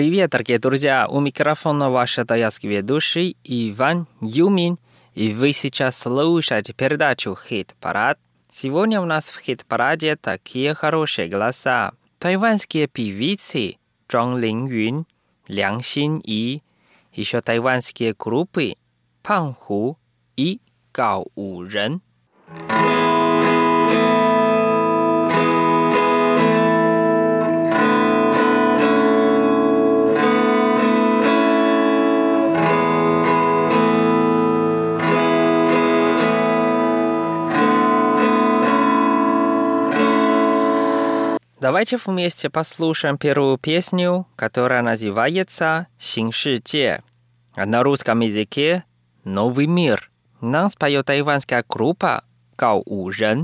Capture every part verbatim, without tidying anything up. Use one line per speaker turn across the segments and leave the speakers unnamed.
Привет, дорогие друзья! У микрофона ваш тайский ведущий Иван Юмин, и вы сейчас слушаете передачу «Хит-парад». Сегодня у нас в «Хит-параде» такие хорошие голоса. Тайванские певицы Чжан Линюн, Лян Синьи, еще тайванские группы Пан Ху и Гао Урен. Давайте вместе послушаем первую песню, которая называется «Син Шиджie», а на русском языке «Новый мир». Нам споет тайванская группа Гао Урен.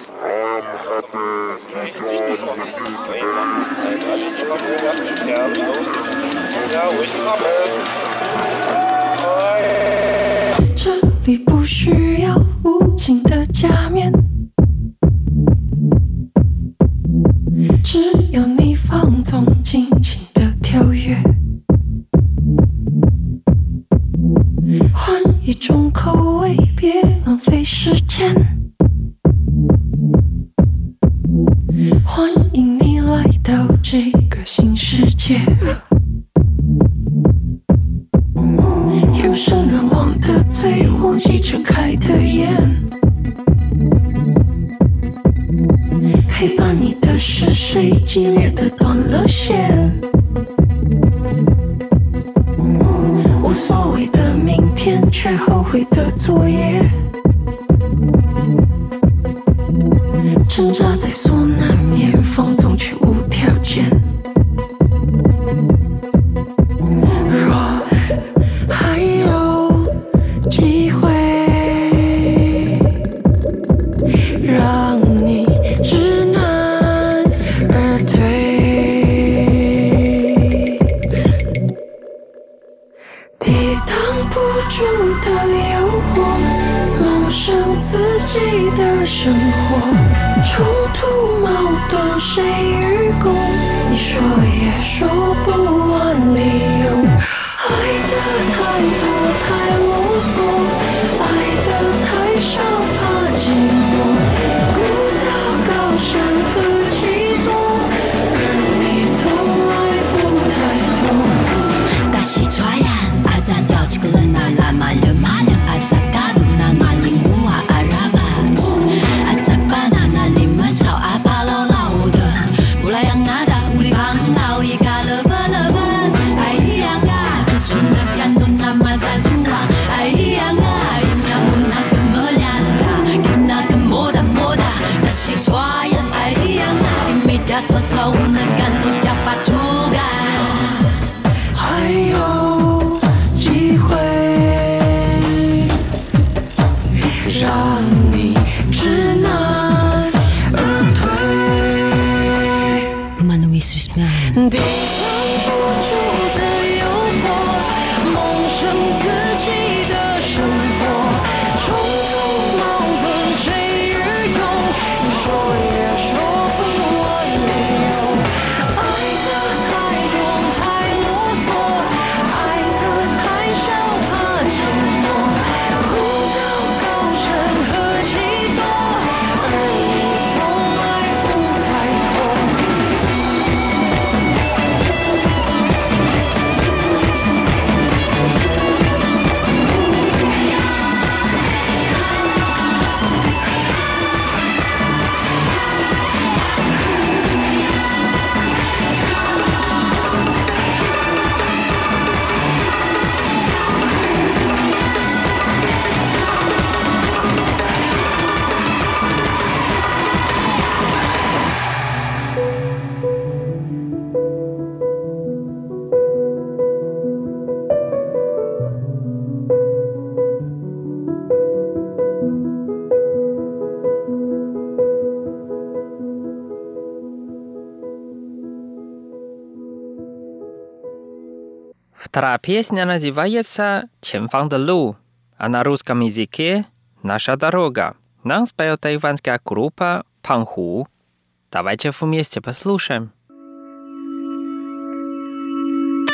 Вторая песня называется «Ченфан де Лу», а на русском языке «Наша дорога». Нам споет тайванская группа Пан Ху. Давайте вместе послушаем.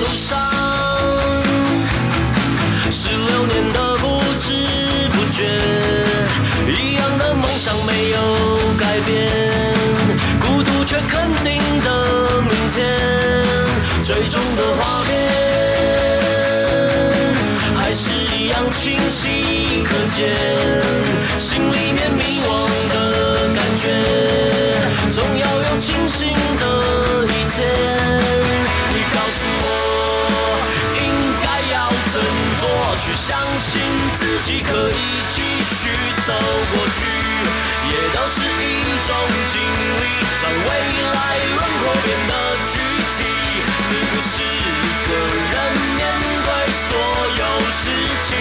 路上，十六年的不知不觉，一样的梦想没有改变，孤独却肯定的明天，最终的画面还是一样清晰可见，心里面迷惘的感觉，总要有清醒的一天。你告诉我应该要振作，去相信自己可以继续走过去，也都是一种经历，让未来轮廓变得具体。你不是一个人面对所有事情，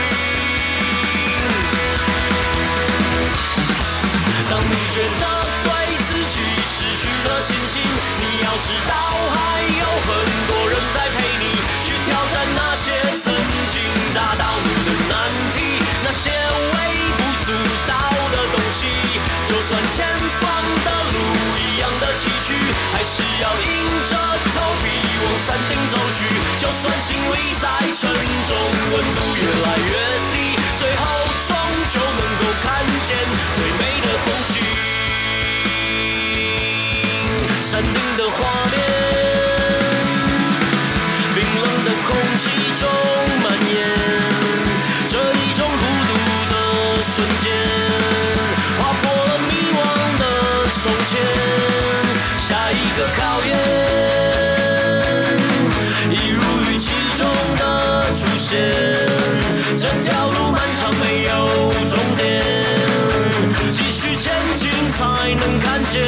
当你觉得对自己失去了信心，你要知道还有很多人在陪你去挑战那些曾经打倒你的难题，那些微不足道的东西，就算前方的路一样的崎岖，还是要硬着头皮往山顶走去，就算心里再沉重，温度越来越低，最后终究能够看见最美的风景。山顶的画面，冰冷的空气中蔓延，这一种孤独的瞬间，划破了迷惘的从前，下一个考验一如预期中的出现，这条路漫长没有终点，继续前进才能看见。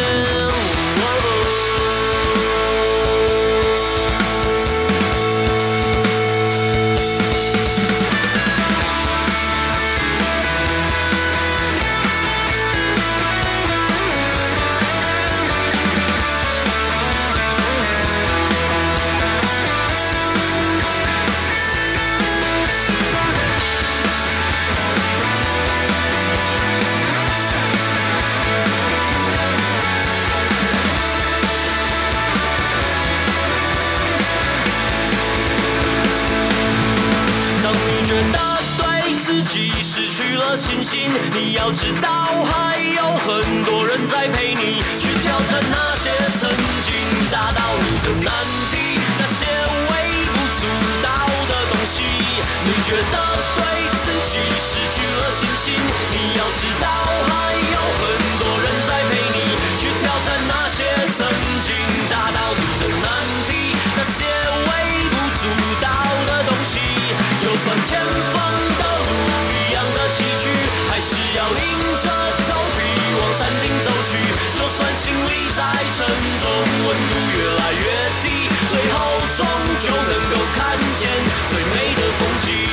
信心，你要知道还有很多人在陪你去挑战那些曾经打倒你的难题，那些微不足道的东西，你觉得对自己失去了信心，你要知道还有很多人在陪你去挑战那些曾经打倒你的难题，那些微不足道的东西，就算前方的路一样的崎岖，还是要硬着头皮往山顶走去，就算心里再沉重，温度越来越低，最后终究能够看见最美的风景。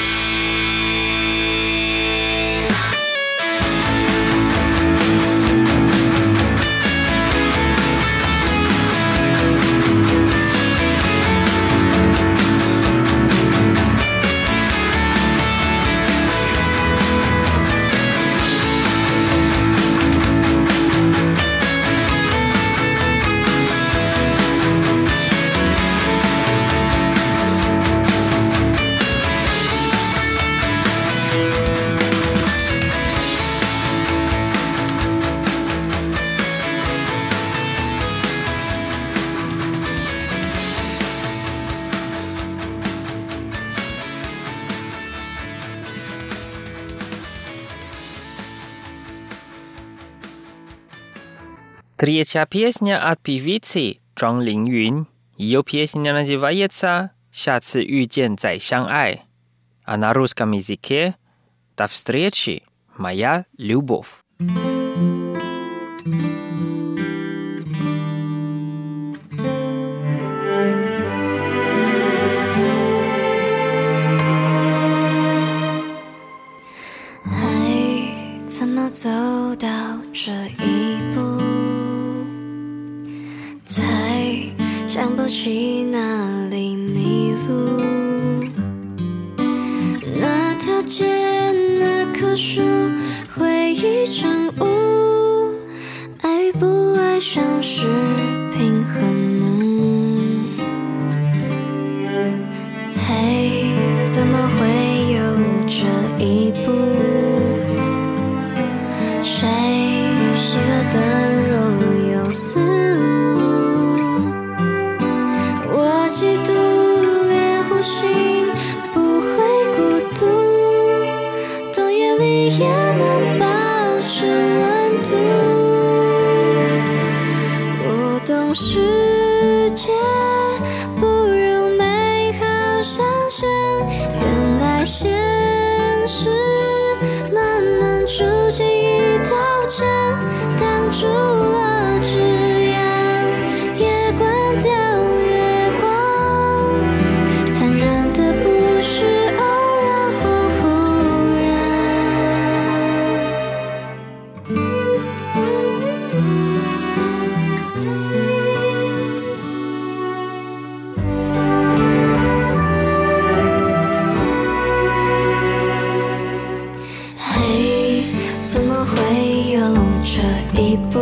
Третья песня от певицы Чжан Линюн. Ее песня называется «下次遇见再相爱», а на русском языке «До встречи, моя любовь».
爱怎么走到这一步，才想不起哪里迷路。那条街，那棵树，回忆成雾。 么会有这一步？谁熄了灯若有似无？我嫉妒连呼吸不会孤独，冬夜里也能保持温度。我懂世界不如美好想象，原来现实慢慢筑起一道墙，挡住了枝桠，也关掉月光。残忍的不是偶然或忽嘿，怎么会有这一步？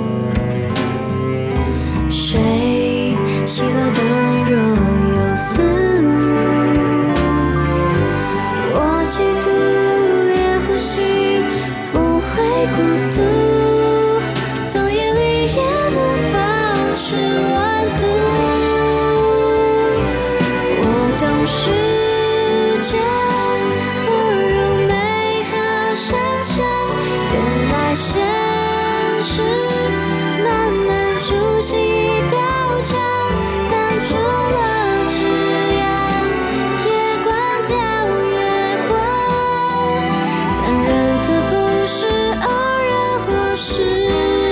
谁熄了灯若有似无？我嫉妒连呼吸不会孤独，冬夜里也能保持温度。我懂世界不如美好想象，原来现实慢慢筑起一道墙，挡住了枝桠，也关掉月光。残忍的不是偶然或是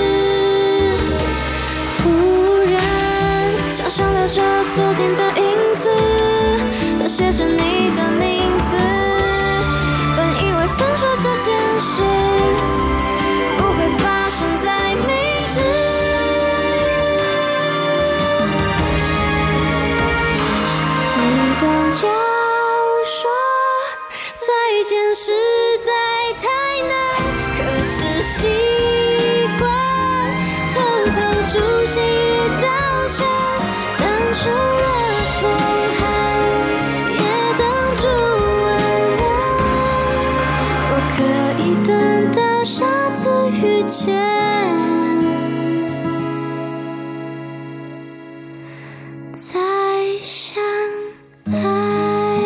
忽然，墙上留着昨天的影子，它写着你的名字。本以为分手这件事不会发生在明日，你懂要说再见实在太难，可是习惯偷偷筑起一道墙，挡住了风寒，也挡住温暖。我可以等到下次遇见，再相爱。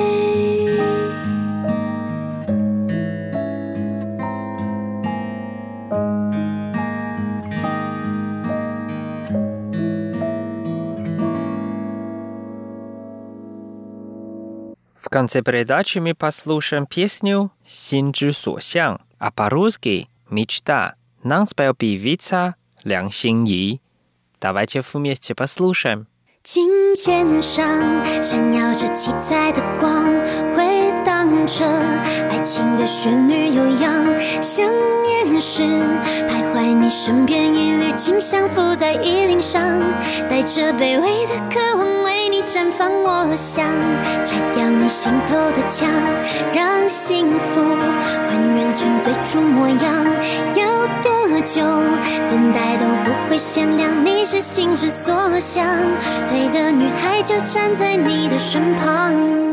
В конце передачи мы послушаем песню «Син之所向», а по-русски «Мечта». Нам спел певица梁心颐. Давайте вместе послушаем.
琴键上闪耀着七彩的光，回荡着爱情的旋律悠扬。想念时徘徊你身边，一缕清香浮在衣领上，带着卑微的渴望为你绽放。我想拆掉你心头的墙，让幸福还原成最初模样。要多久等待都不会限量，你是心之所向，对的女孩就站在你的身旁。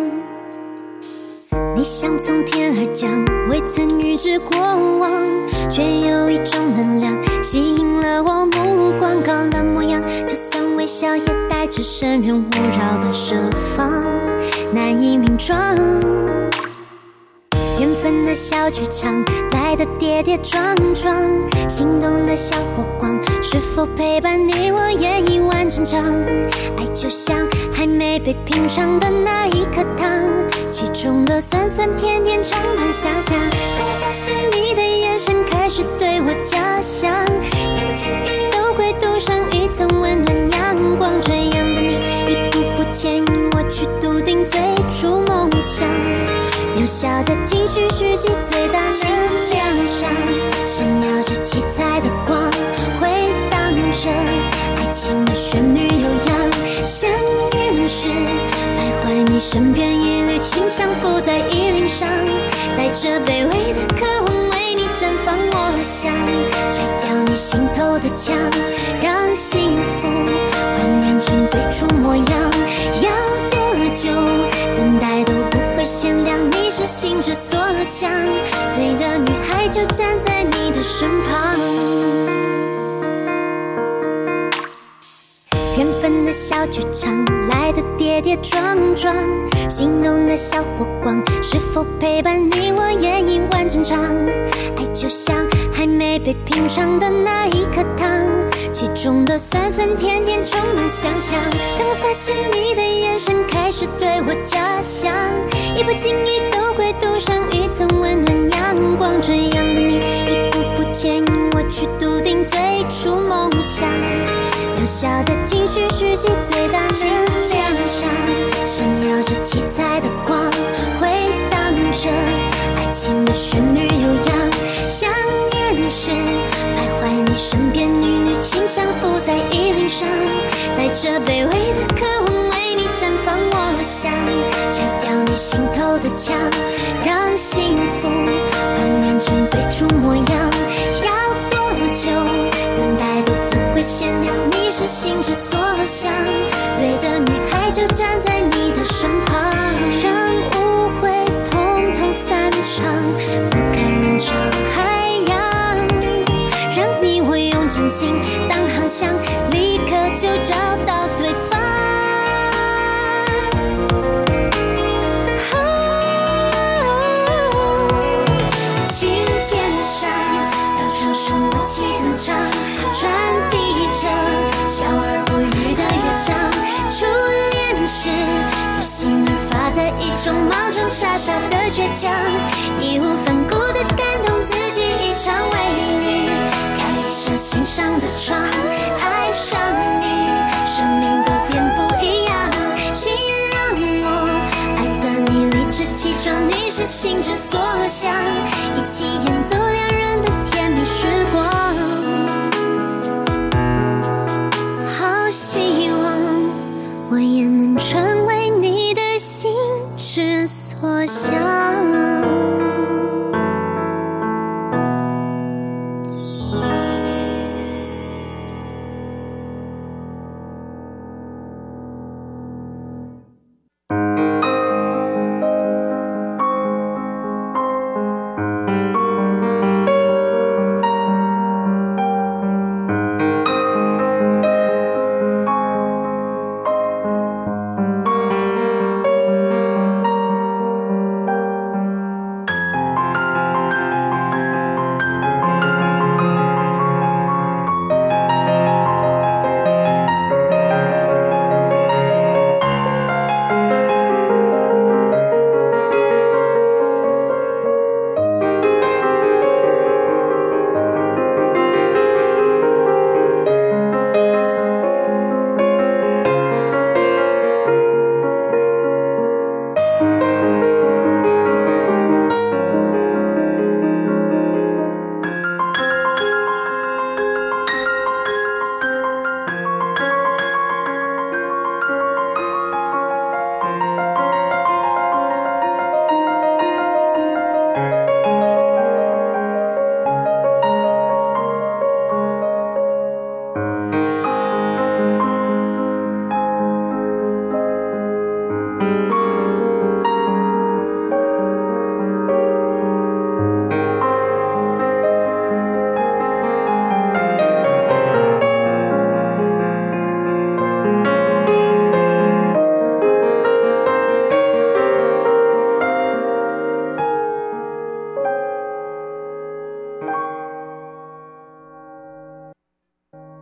你像从天而降，未曾预知过往，却有一种能量吸引了我目光。高冷模样，就算微笑也带着生人勿扰的设防，难以名状。缘分的小剧场来的跌跌撞撞，心动的小火光是否陪伴你我演一完整场。爱就像还没被品尝的那一颗糖，其中的酸酸甜甜常难想象。当发现你的眼神开始对我假想，每个情意都会镀上一层温暖阳光。这样的你一步步牵引我去笃定最初梦想，渺小的情绪蓄积最大能量上，闪耀着七彩的光，回荡着爱情的旋律悠扬。想念时徘徊你身边，一缕清香浮在衣领上，带着卑微的渴望为你绽放。我想拆掉你心头的墙，让幸福还原成最初模样。要多久等待都不会会限量，你是心之所向，对的女孩就站在你的身旁。缘分的小剧场，来的跌跌撞撞，心动的小火光，是否陪伴你我演一完整场？爱就像还没被品尝的那一颗糖，其中的酸酸甜甜充满想象。当我发现你的眼神开始对我假想，一不经意都会镀上一层温暖阳光。这样的你，一步步牵引我去笃定最初梦想。渺小的情绪蓄积最大能量上，闪耀着七彩的光，回荡着爱情的旋律悠扬。想念时徘徊你身边，一缕清香浮在衣领上，带着卑微的渴望为你绽放。我想拆掉你心头的墙，让幸福幻变成最初模样。要多久等待都不会限量，你是心之所向，对的女孩就站在你的身旁，让误会统统散场，拨开人潮海洋，让你我用真心当航向，立刻就找到对方。琴键上，让双手默契登场，传递着笑而不语的乐章。初恋时有心而发的一种莽撞，傻傻的倔强，义无反顾的感动自己一场，为你开一扇心上的窗。爱上你，生命都变不一样，请让我爱得你理直气壮，你是心之所向，一起演奏两人的甜蜜时光。好希望我也能成为你的心之所向。